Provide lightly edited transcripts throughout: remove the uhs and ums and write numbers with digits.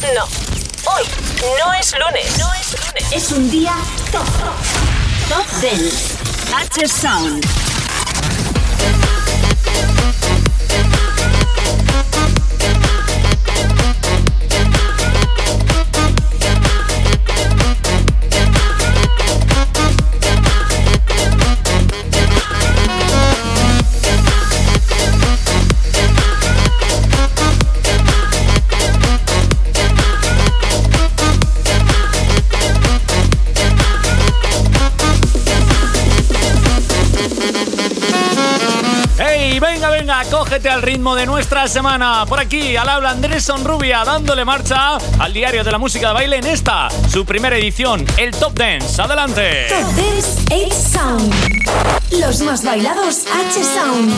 No. Hoy no es lunes. Es un día top. Top Dance. H-Sound. Venga, cógete al ritmo de nuestra semana. Por aquí, al habla Andrés Sonrubia, dándole marcha al diario de la música de baile en esta, su primera edición, el Top Dance. ¡Adelante! Top Dance H-Sound. Los más bailados H-Sound.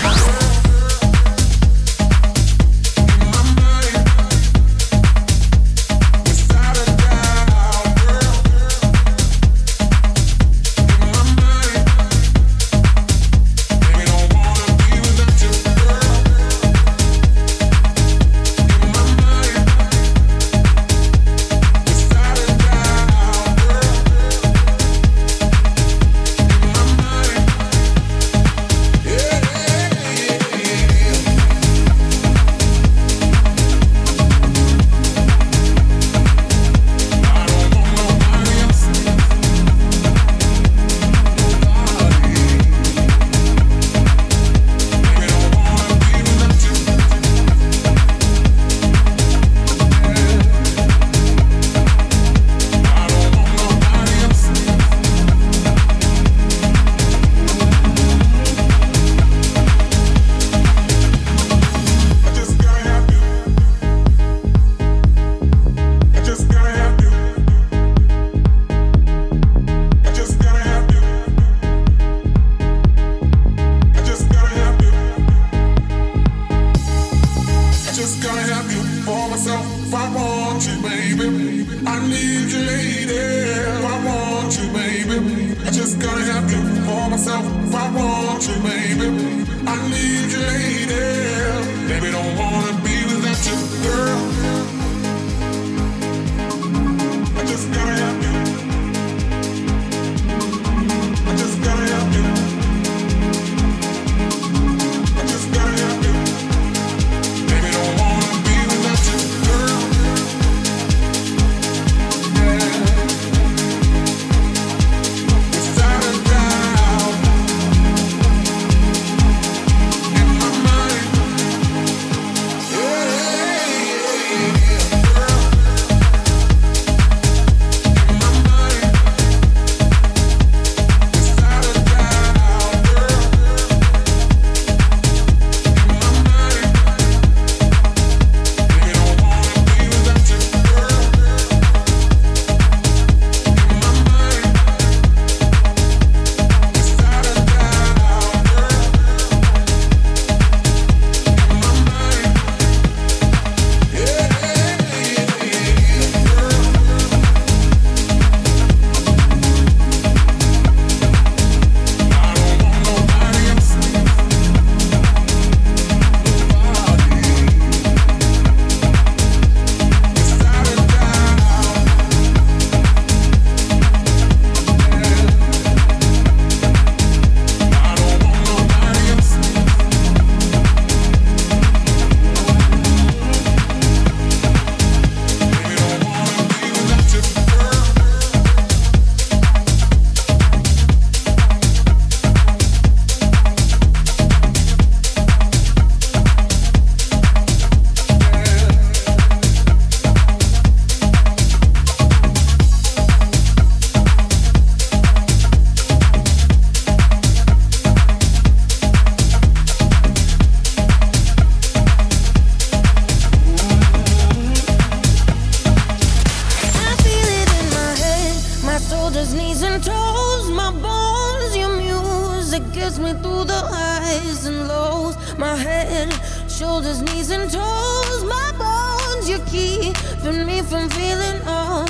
shoulders, knees and toes, my bones, you're keeping me from feeling all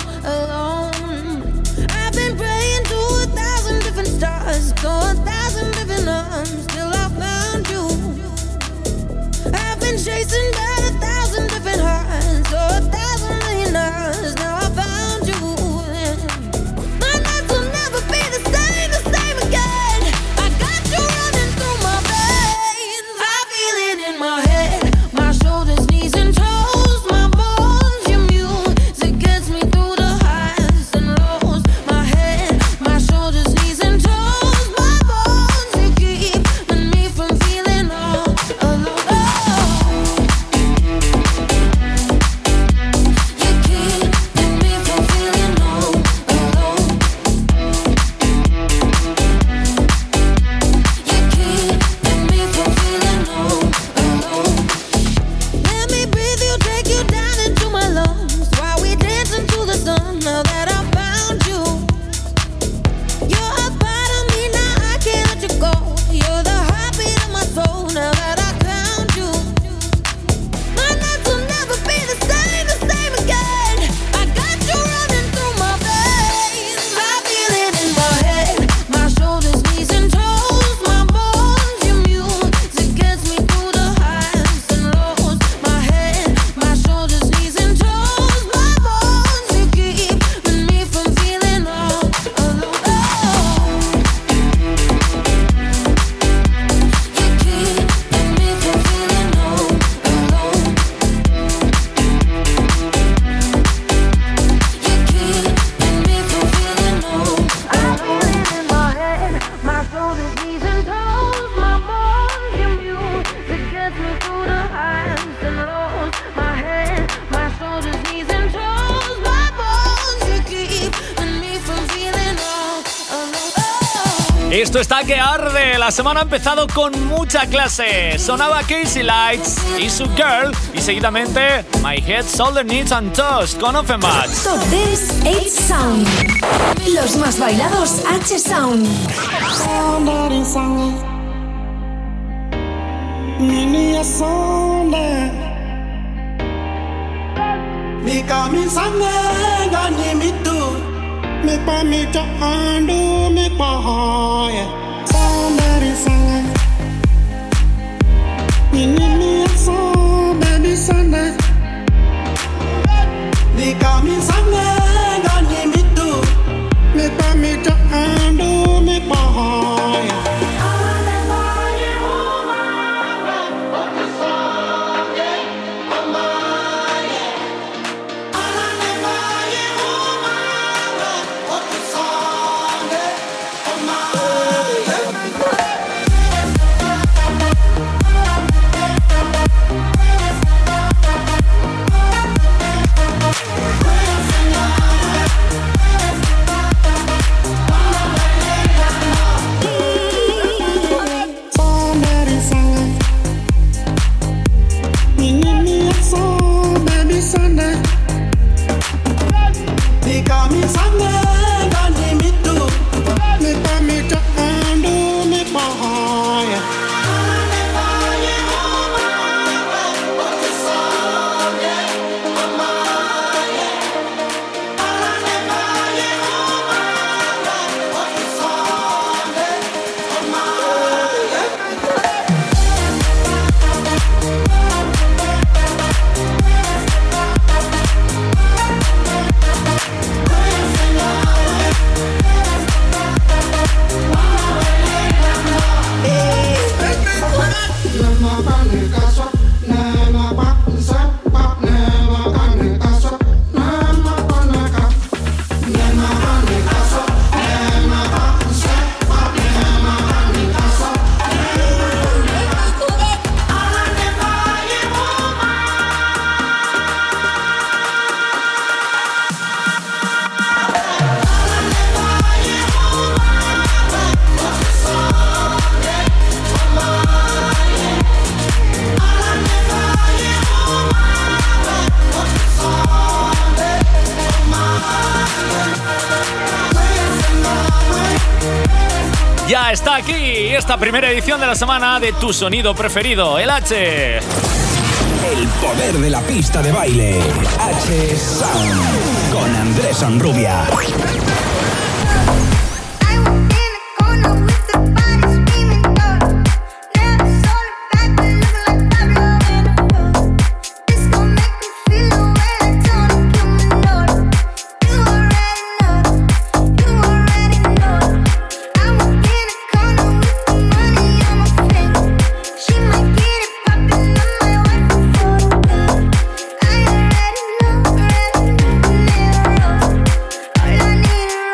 alone. I've been praying to 1,000 different stars, to 1,000 different arms, till I found you. I've been chasing down 1,000 different hearts, so 1,000 Esto está que arde. La semana ha empezado con mucha clase. Sonaba Casey Lights y su Girl. Y seguidamente My Head, Shoulder, Knees and Toes con Offenbach. Top Dance H-Sound. Los más bailados H-Sound. Mi kamisanga gani mitu mi pa mi jahandu mi pahoya somebody sanga mi so baby sana mi kamisanga gani mitu mi pa mi jahandu mi pahoya. Ya está aquí esta primera edición de la semana de tu sonido preferido, el H. El poder de la pista de baile. H-Sound con Andrés Sonrubia. All I need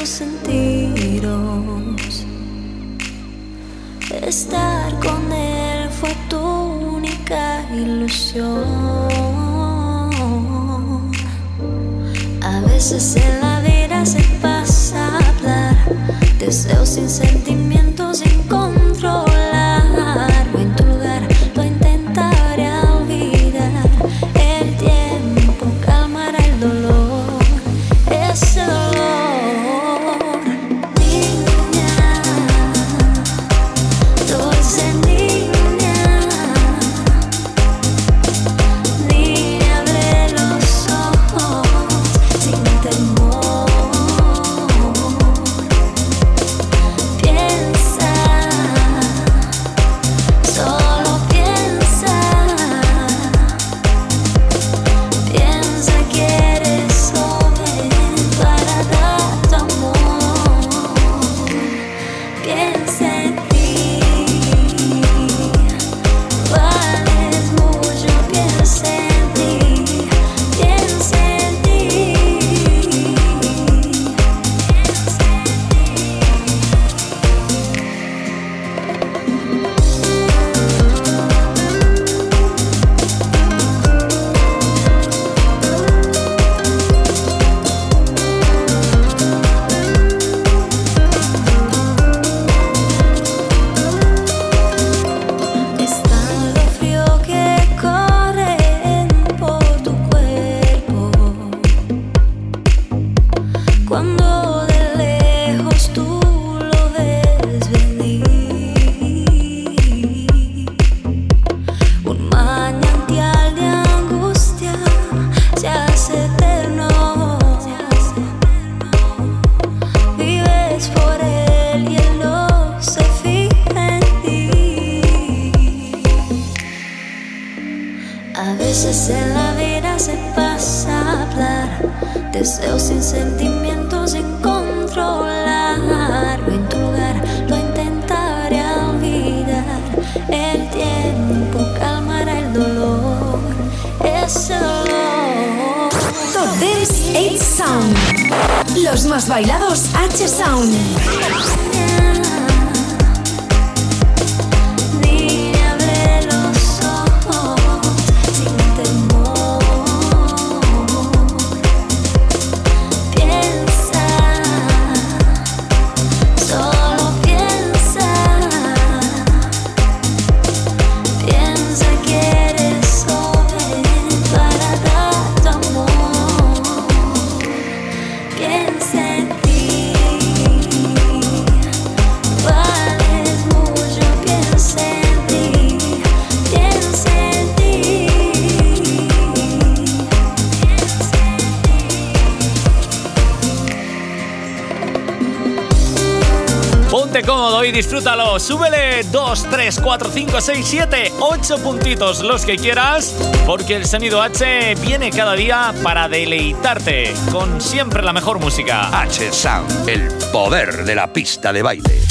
tus sentidos. Estar con él fue tu única ilusión. A veces en la vida se pasa a hablar, deseos sin sentimientos, sin controlar. O en tu lugar lo intentaré olvidar. El tiempo calmará el dolor, ese dolor. Niña, dulce niña, niña, abre los ojos sin temor. Piensa, solo piensa, piensa que eres joven para dar tu amor. Piensa en ti, vales mucho, piensa en ti, piensa en ti, piensa en Está lo frío que corre por tu cuerpo cuando de lejos tú lo ves venir. Un manantial de angustia se hace eterno. Vives por él y él no se fija en ti. A veces en la vida se pasa a hablar, deseos sin sentimientos, sin controlar. O en tu lugar lo intentaré olvidar. El tiempo calmará el dolor, ese dolor. Top Dance 8 Sound. Los más bailados H Sound. Niña, abre los ojos sin temor. Piensa, solo piensa, piensa que eres joven para dar tu amor. Piensa en ti, vales mucho, piensa en ti, piensa en ti, piensa en ti. Ponte cómodo y disfrútalo. Súbele 2, 3, 4, 5, 6, 7, 8 puntitos, los que quieras, porque el sonido H viene cada día para deleitarte con siempre la mejor música. H Sound, el poder de la pista de baile.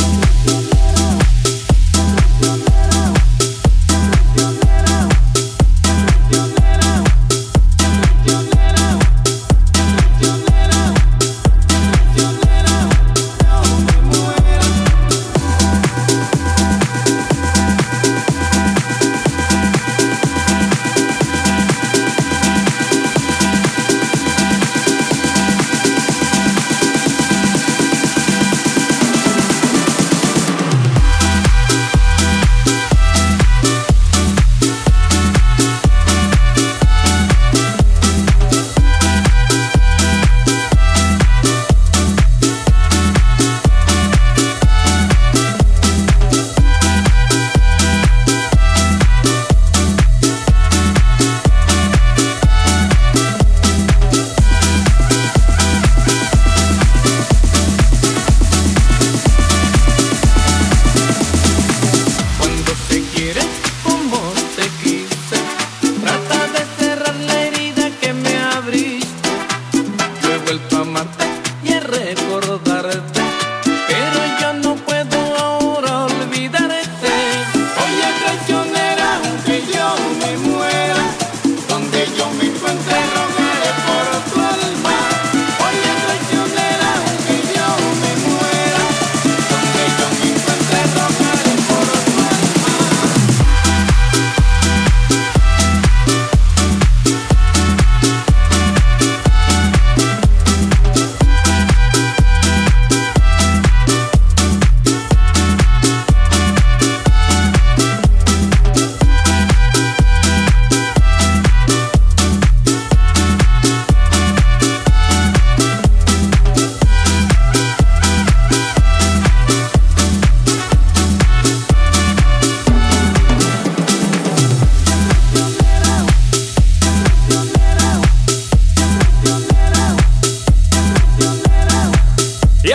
encuentre rogaré por tu alma. Oye, traicionera, aunque yo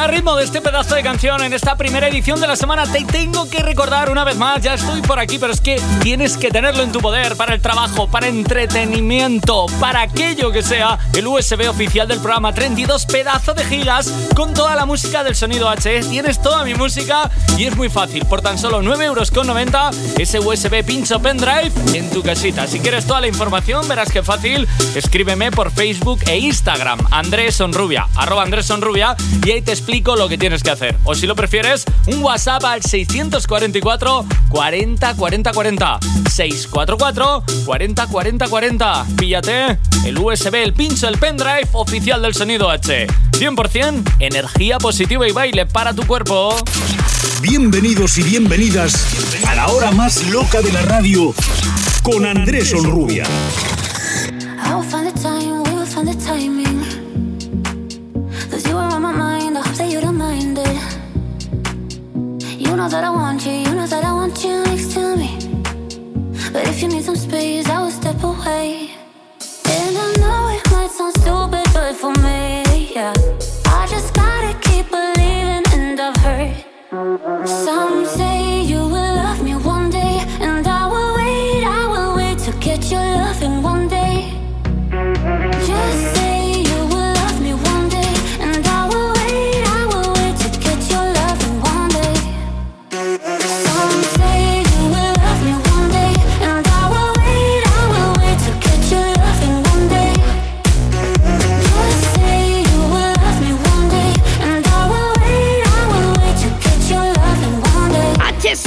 al ritmo de este pedazo de canción en esta primera edición de la semana, te tengo que recordar una vez más, ya estoy por aquí, pero es que tienes que tenerlo en tu poder para el trabajo, para entretenimiento, para aquello que sea, el USB oficial del programa 32 pedazos de gigas con toda la música del Sonido H. Tienes toda mi música y es muy fácil, por tan solo 9,90 € ese USB pincho pendrive en tu casita. Si quieres toda la información, verás qué fácil, escríbeme por Facebook e Instagram, @AndrésSonrubia, y ahí te explico lo que tienes que hacer. O si lo prefieres, un WhatsApp al 644 40 40 40, 644 40 40 40. Píllate el USB, el pincho, el pendrive oficial del Sonido H. 100% energía positiva y baile para tu cuerpo. Bienvenidos y bienvenidas a la hora más loca de la radio con Andrés Sonrubia. I will find the time, we will find the timing. 'Cause you are on my mind, I hope that you don't mind it. You know that I want you, you know that I want you next to me. But if you need some space, I will step away. And I know it might sound stupid, but for me, yeah, I just gotta keep believing, and I've heard some say you will love me one day, and I will wait to get your loving one day. Just say you will love me one day, and I will wait to get your loving one day. Some say you will love me one day, and I will wait to get your loving one day. Just say you will love me one day, and I will wait to get your loving one day.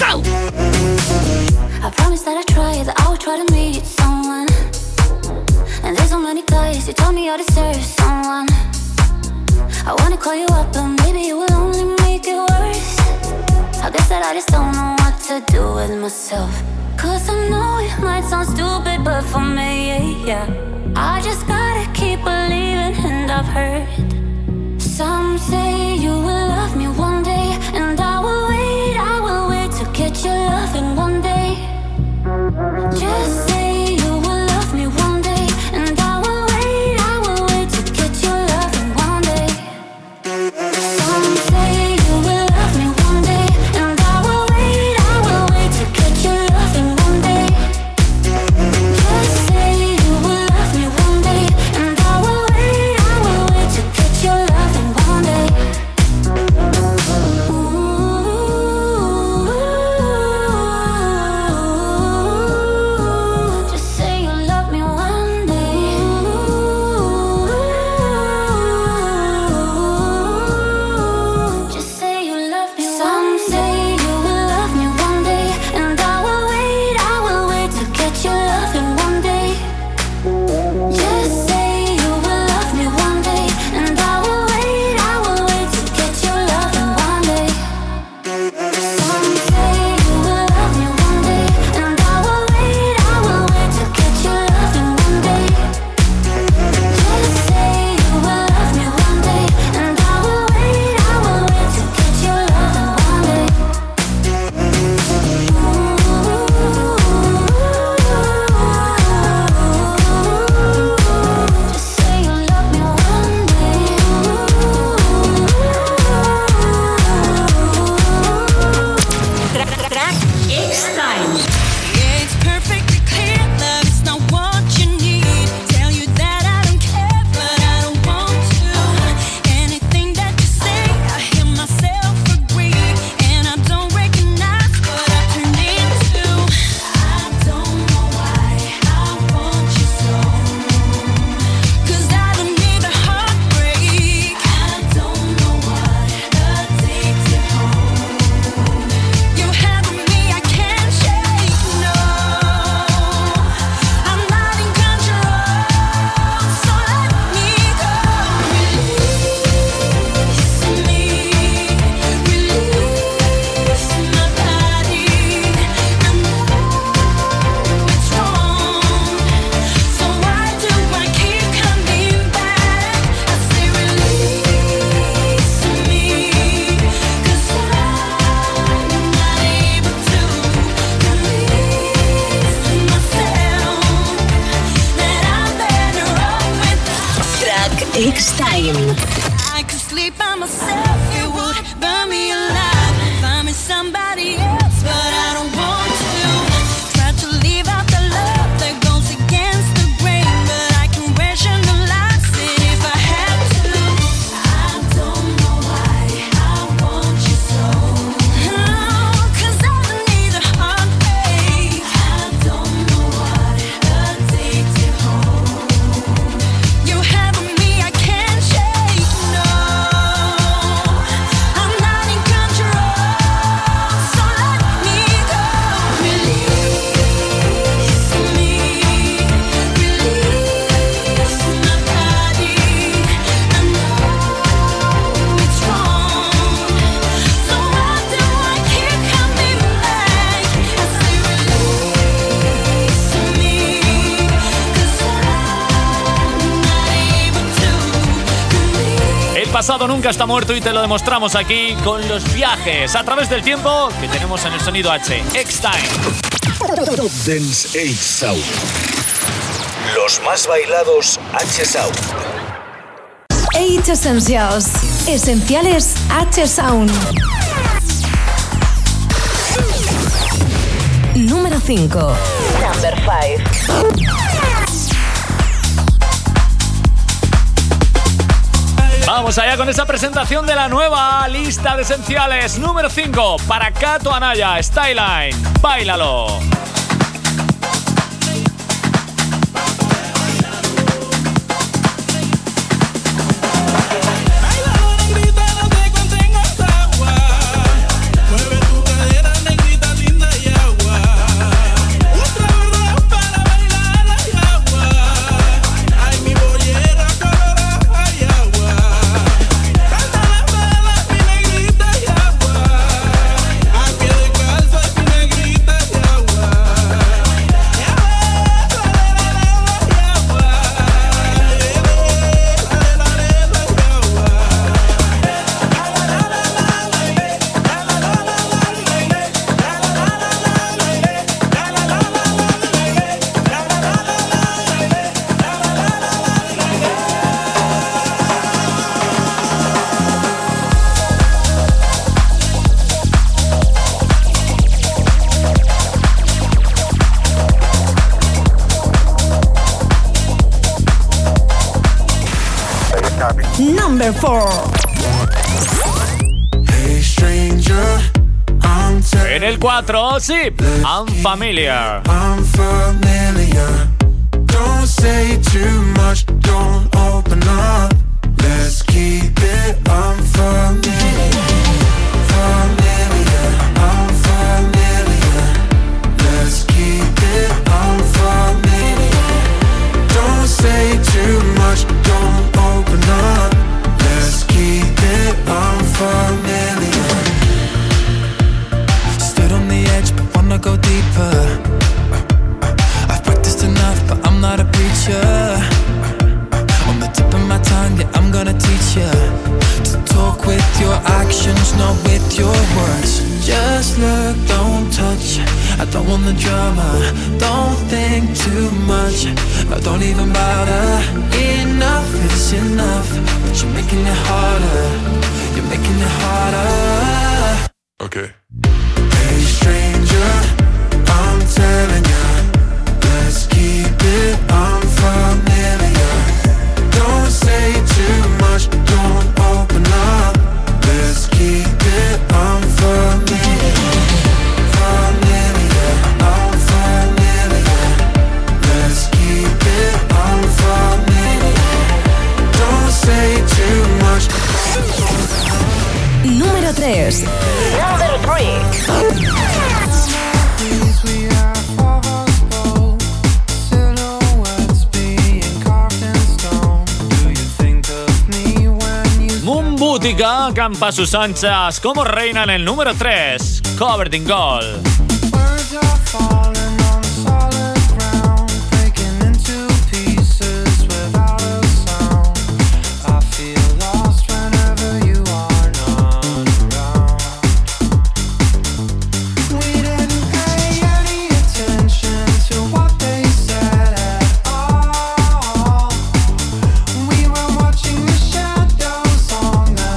I promise that I try, that I will try to meet someone. And there's so many guys who told me I deserve someone. I wanna call you up, but maybe it will only make it worse. I guess that I just don't know what to do with myself. 'Cause I know it might sound stupid, but for me, yeah, I just gotta keep believing, and I've heard some say you will love me one day, and I will wait to get your loving one day. Just say you will love me one day, and I will wait to get your loving one day. Some say you will love me one day, and I will wait to get your loving one day. Just say you will love me one day, and I will wait to get your sleep by myself, it would burn me alive. Find me somebody else, but I don't want to. Try to leave out the love that goes against the grain, but I can rationalize it if I had to. I don't know why I want you so. Oh, 'cause I don't need a heartbreak. I don't know what addicted home. You have me, I can't shake. No, I'm not in control. So let me go. Release me. Release my body. I know it's wrong. So why do I keep coming back? I say release me. 'Cause I'm not able to release. El pasado nunca está muerto y te lo demostramos aquí con los viajes a través del tiempo que tenemos en el sonido H. X-Time. Top Dance H-Sound. Los más bailados H-Sound. H Essentials. Esenciales H Sound. Número 5. Number 5. Vamos allá con esa presentación de la nueva lista de esenciales. Número 5 para Kato Anaya, Styline. Báilalo. Number 4. Hey stranger, I'm En el 4, sí, Unfamiliar. I'm familiar. Don't say too much, don't open up. Let's keep it unfamiliar. Familiar, unfamiliar. Let's keep it unfamiliar. Don't say too much, don't open up. Let's keep it unfamiliar. Stood on the edge, but wanna go deeper. I've practiced enough, but I'm not a preacher. On the tip of my tongue, yeah, I'm gonna teach you to talk with your actions, not with your words. Just look, don't touch. I don't want the drama. Don't think too much. No, don't even bother. Enough is enough. But you're making it harder. You're making it harder. Okay. Hey stranger, I'm telling ya, let's keep it unfamiliar. Don't say too much, don't open up. Let's keep it unfamiliar. Familiar, unfamiliar. Let's keep it unfamiliar. Don't say too much. Número 3. Number 3. Mumbutica campa sus anchas como reina en el número 3, Covered in Gold. We were watching the shadows on the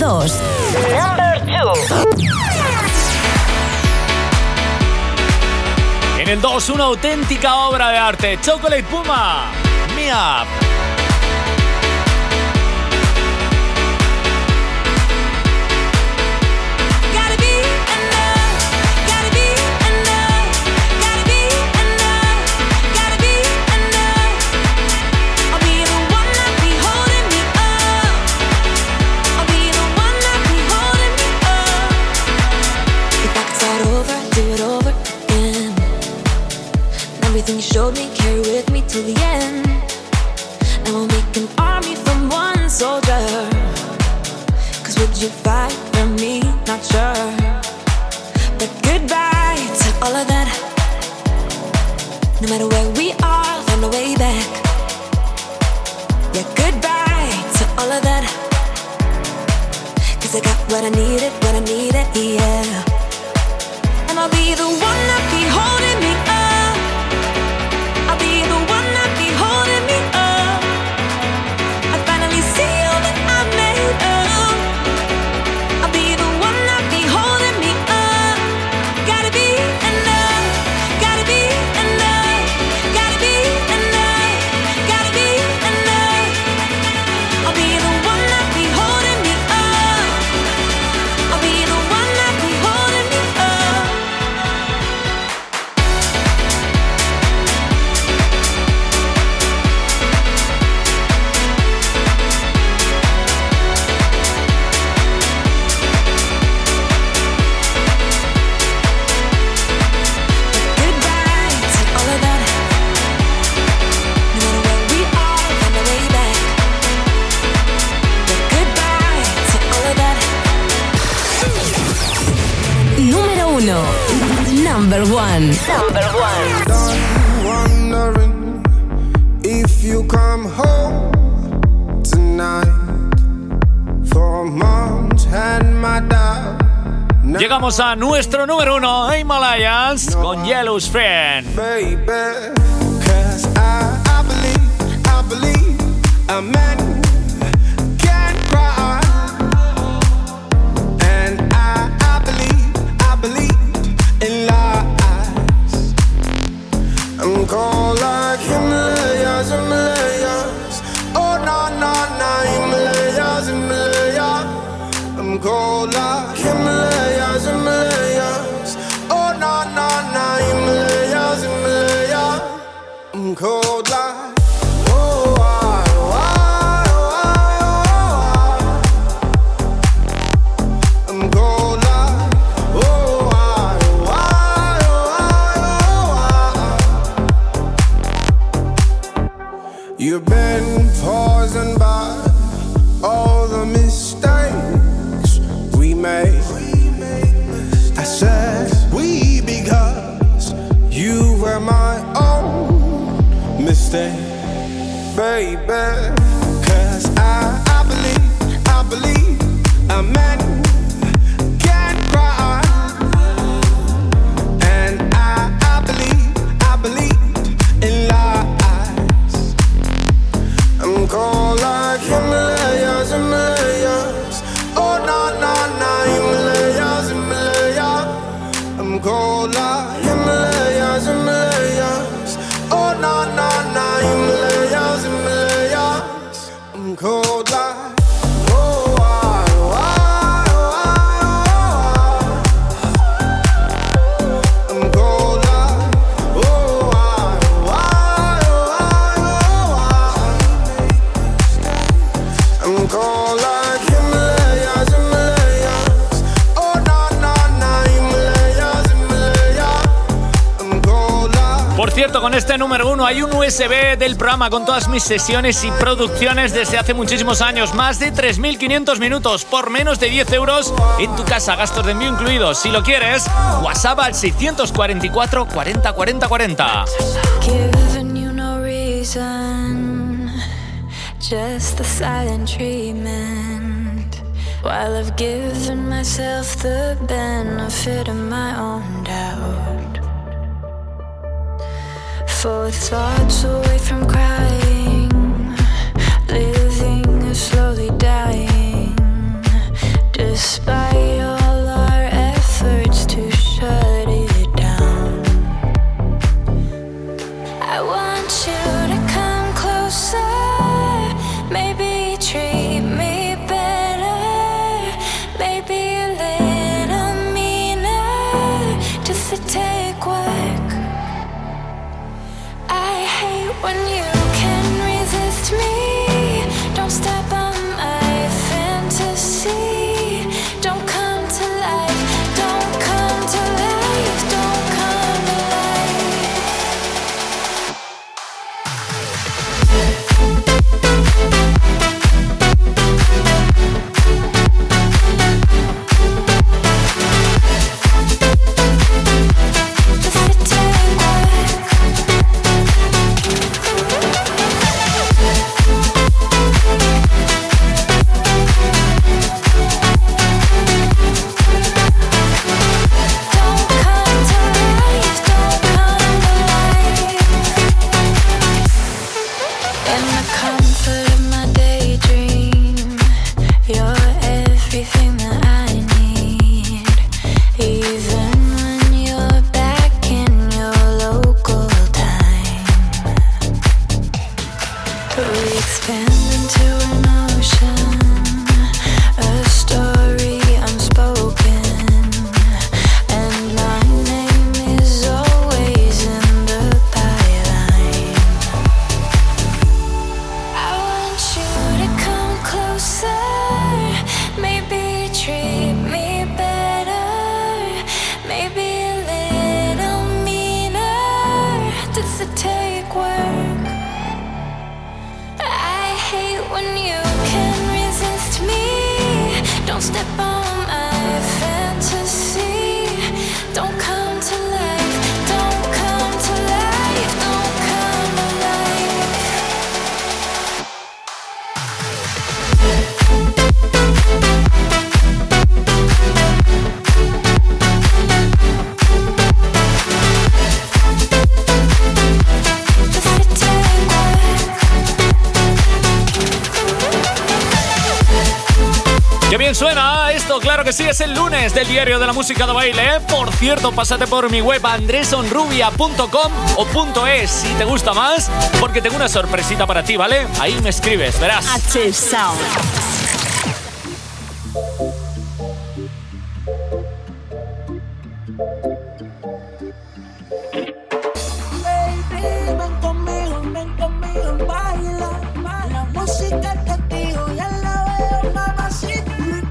2. Number 2. En el 2, una auténtica obra de arte. Chocolate Puma, Me Up. Everything you showed me, carry with me till the end. Now we'll make an army from one soldier. Cause would you fight for me? Not sure. But goodbye to all of that. No matter where we are, find a way back. Yeah, goodbye to all of that. Cause I got what I needed, yeah. And I'll be the one that be holding me up. I'll be the one that be holding me up. I finally see all that I made of. I'll be the one that be holding me up. Gotta be enough. Gotta be enough. Gotta be enough. Gotta be enough. I'll be the one that be holding me up. I'll be the one that be holding me up. Número 1. Number 1. Number 1. Done wondering if you come home tonight. For months had my doubt. Llegamos a nuestro número 1, Himalayas, con Yellow's Friend. Baby, cause I believe a man can cry. And I believe in lies. I'm cold like Himalayas, Himalayas. Oh, no, no, no, Himalayas, Himalayas. I'm cold like Himalayas, Himalayas. Oh, no, no, no, Himalayas, Himalayas. I'm cold like. Oh, I'm cold like. You've been poisoned by all the mistakes we made. I said we because you were my own mistake, baby. Cause I believe a man can cry. And I believe in lies. I'm cold like Himalayas, Himalayas. Oh, no, no, no, Himalayas, Himalayas. I'm cold like Himalayas, Himalayas. Oh, no, no, no, Himalayas, Himalayas. I'm cold like. Por cierto, con este número 1 hay un USB del programa con todas mis sesiones y producciones desde hace muchísimos años. Más de 3.500 minutos por menos de 10 euros en tu casa, gastos de envío incluidos. Si lo quieres, WhatsApp al 644 40 40 40. Given you no reason, just the silent treatment. While I've given myself the benefit of my own doubt. Forward thoughts away from crying, living is slowly dying. I want you to come closer, maybe treat me better, maybe a little meaner, just to take work. I hate when you can resist me, don't step on my fantasy, don't come to life, don't come to life, don't come to life. Suena esto, claro que sí, es el lunes del Diario de la Música de Baile, ¿eh? Por cierto, pásate por mi web andresonrubia.com o .es si te gusta más, porque tengo una sorpresita para ti, ¿vale? Ahí me escribes, verás. H-Sound. Ven conmigo, baila. La música es contigo, ya la veo, mamacita.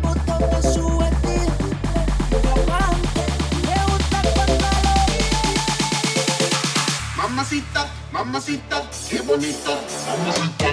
Mamacita, mamacita, qué bonita, mamacita.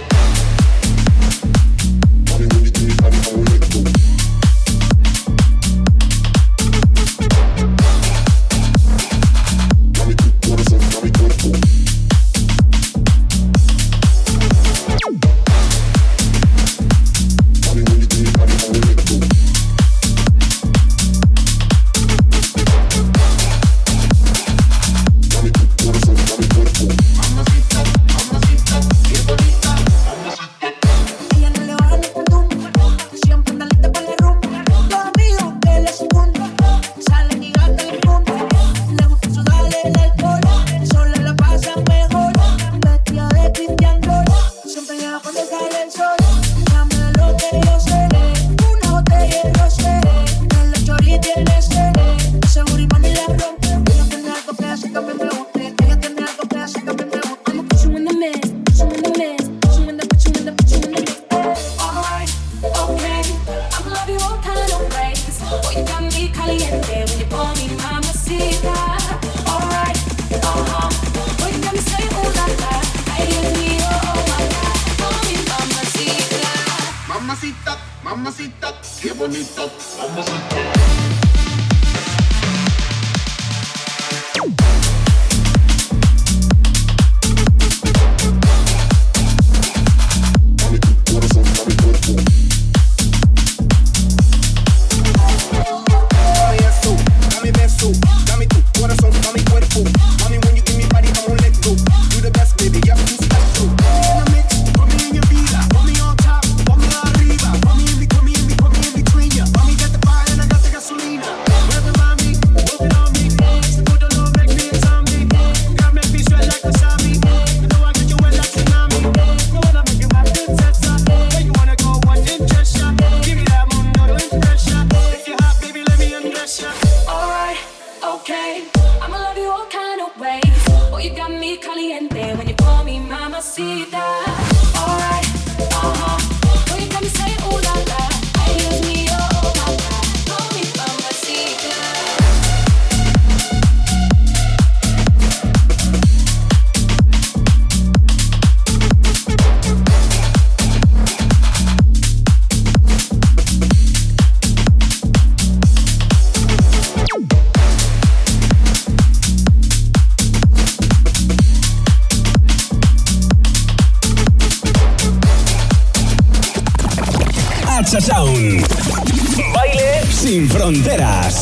Mamacita, qué bonita, mamacita. Arriba, ponme en between ya. Mami, get the fire and I got mamacita. Alright, when you come and say ooh la la, excuse me, oh my God, call me mamacita. Hacha Sound. Baile sin fronteras.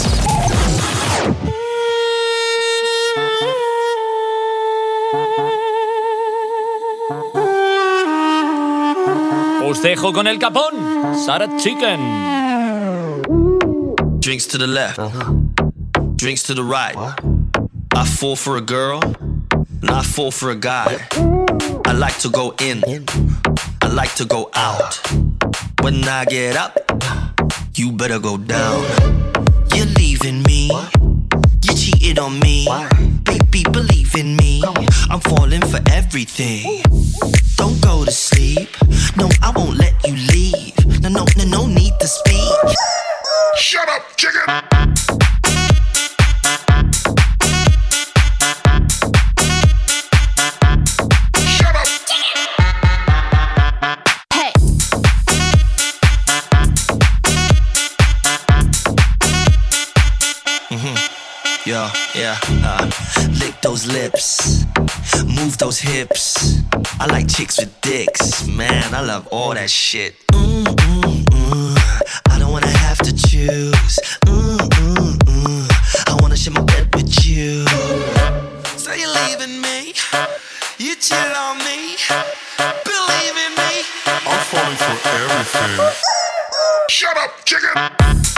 Os dejo con el capón. Sarah Chicken. Drinks to the left, drinks to the right. I fall for a girl, and I fall for a guy. I like to go in, I like to go out. When I get up, you better go down. You're leaving me, you cheated on me. Baby, believe in me, I'm falling for everything. Don't go to sleep, no, I won't let you leave. No need to speak. Shut up, chicken! Yeah, lick those lips, move those hips. I like chicks with dicks, man, I love all that shit. I don't wanna have to choose. I wanna share my bed with you. So you're leaving me, you cheat on me. Believe in me, I'm falling for everything. Shut up, chicken!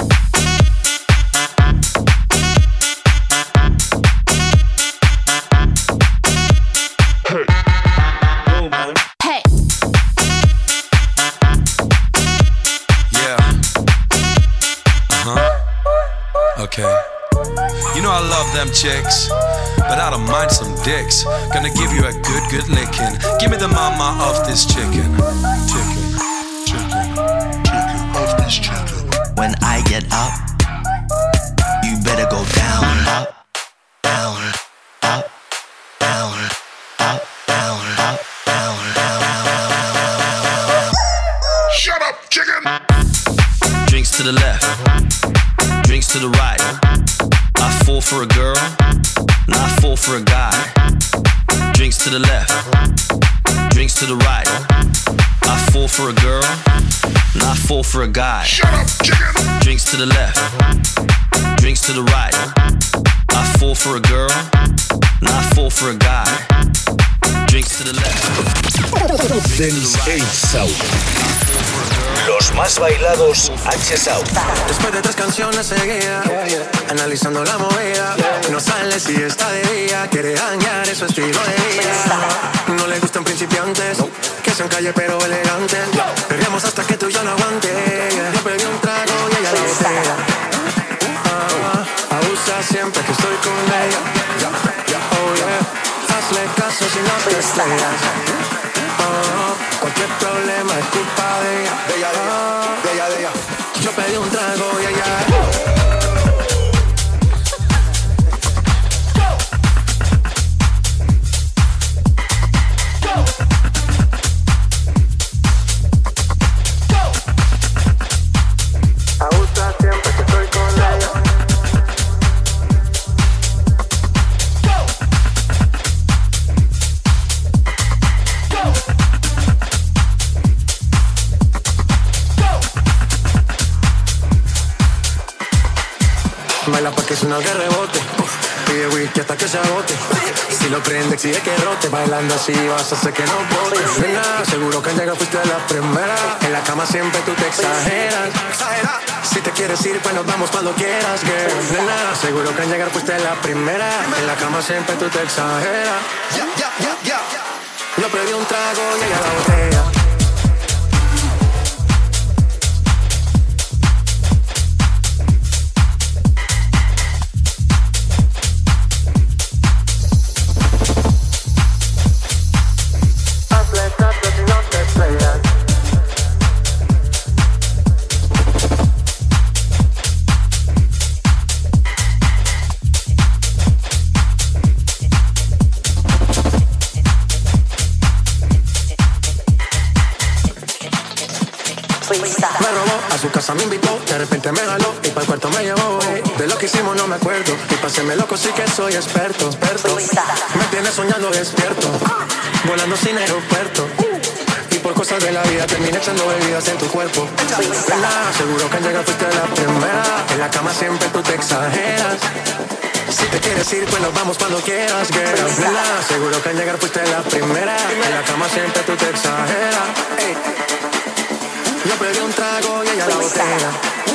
Okay. You know I love them chicks, but I don't mind some dicks. Gonna give you a good licking. Give me the mama of this chicken. Chicken of this chicken. When I get up, you better go down, up, down, up, down, up, down, up, down, down, down. Shut up, chicken! Drinks to the left, drinks to the right. I fall for a girl, and I fall for a guy. Drinks to the left, drinks to the right. I fall for a girl, and I fall for a guy. Shut up, chicken! Drinks to the left, drinks to the right. I fall for a girl, and I fall for a guy. Drinks to the left. Dance South. Los más bailados H South. Después de 3 canciones seguidas, analizando la movida, no sale si está de día, quiere dañar su estilo de vida. No le gustan principiantes, que sean calle pero elegantes. Peleamos hasta que tú y yo no aguante. Yo pedí un trago y ella la botella. Abusa siempre que estoy con ella. Oh yeah, hazle caso si no te estrellas. Cualquier problema es culpa de ella. De ella. Yo pedí un trago y ella. Baila pa' que suena que rebote. Pide whisky hasta que se agote. Si lo prende, exige que rote. Bailando así vas a hacer que no botes. Nena, seguro que al llegar fuiste la primera. En la cama siempre tú te exageras. Si te quieres ir, pues nos vamos cuando quieras, girl. Nena, seguro que al llegar fuiste la primera. En la cama siempre tú te exageras. Yo pedí un trago y ella la botella. Me robó, a su casa me invitó, de repente me jaló y para el cuarto me llevó. De lo que hicimos no me acuerdo, y paséme loco sí que soy experto. Me tiene soñando despierto, volando sin aeropuerto. Y por cosas de la vida terminé echando bebidas en tu cuerpo. Nada, seguro que al llegar fuiste la primera. En la cama siempre tú te exageras. Si te quieres ir, pues nos vamos cuando quieras, girl. Nada, seguro que al llegar fuiste la primera. En la cama siempre tú te exageras. Ey. Yo pedí un trago y ella la botella.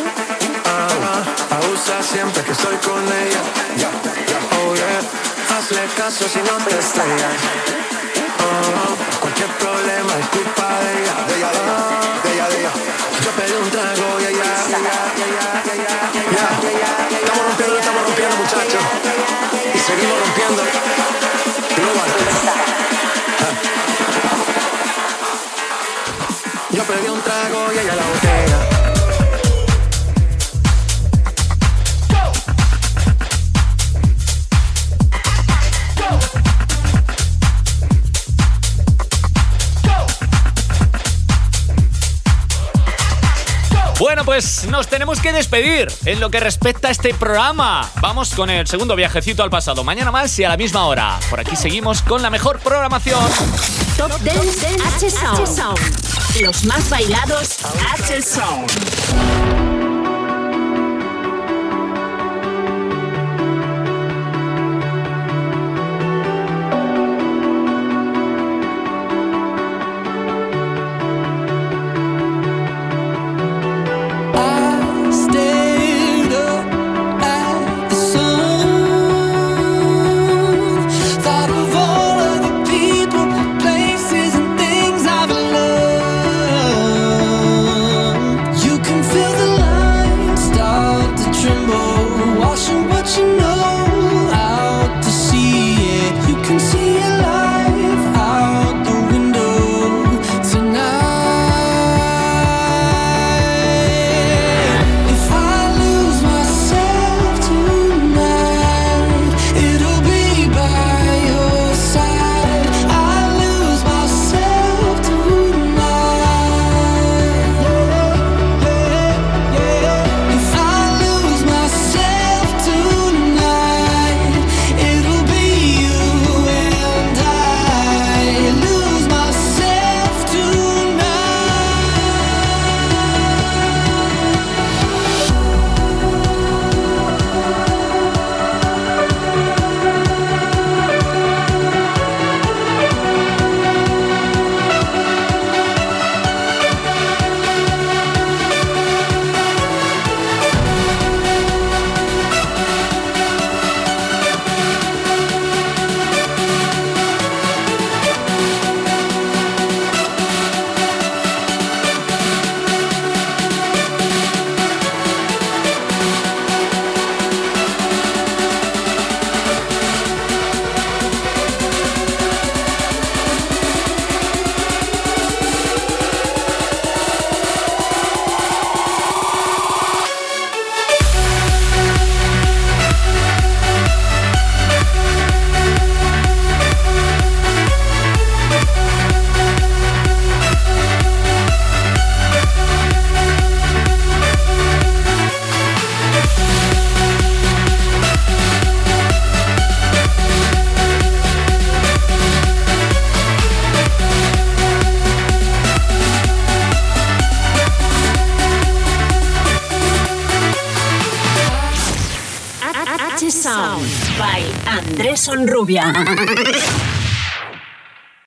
Abusa siempre que estoy con ella. Oh yeah, hazle caso si no te estrellas. Cualquier problema es culpa de ella. Yo pedí un trago y ella. Estamos rompiendo muchachos. Y seguimos rompiendo. Yo pedí un trago y ella la botella. Bueno, pues nos tenemos que despedir en lo que respecta a este programa. Vamos con el segundo viajecito al pasado. Mañana más y a la misma hora. Por aquí seguimos con la mejor programación. Top Dance H-Sound. Los más bailados H-Sound. H-Sound by Andrés Onrubia.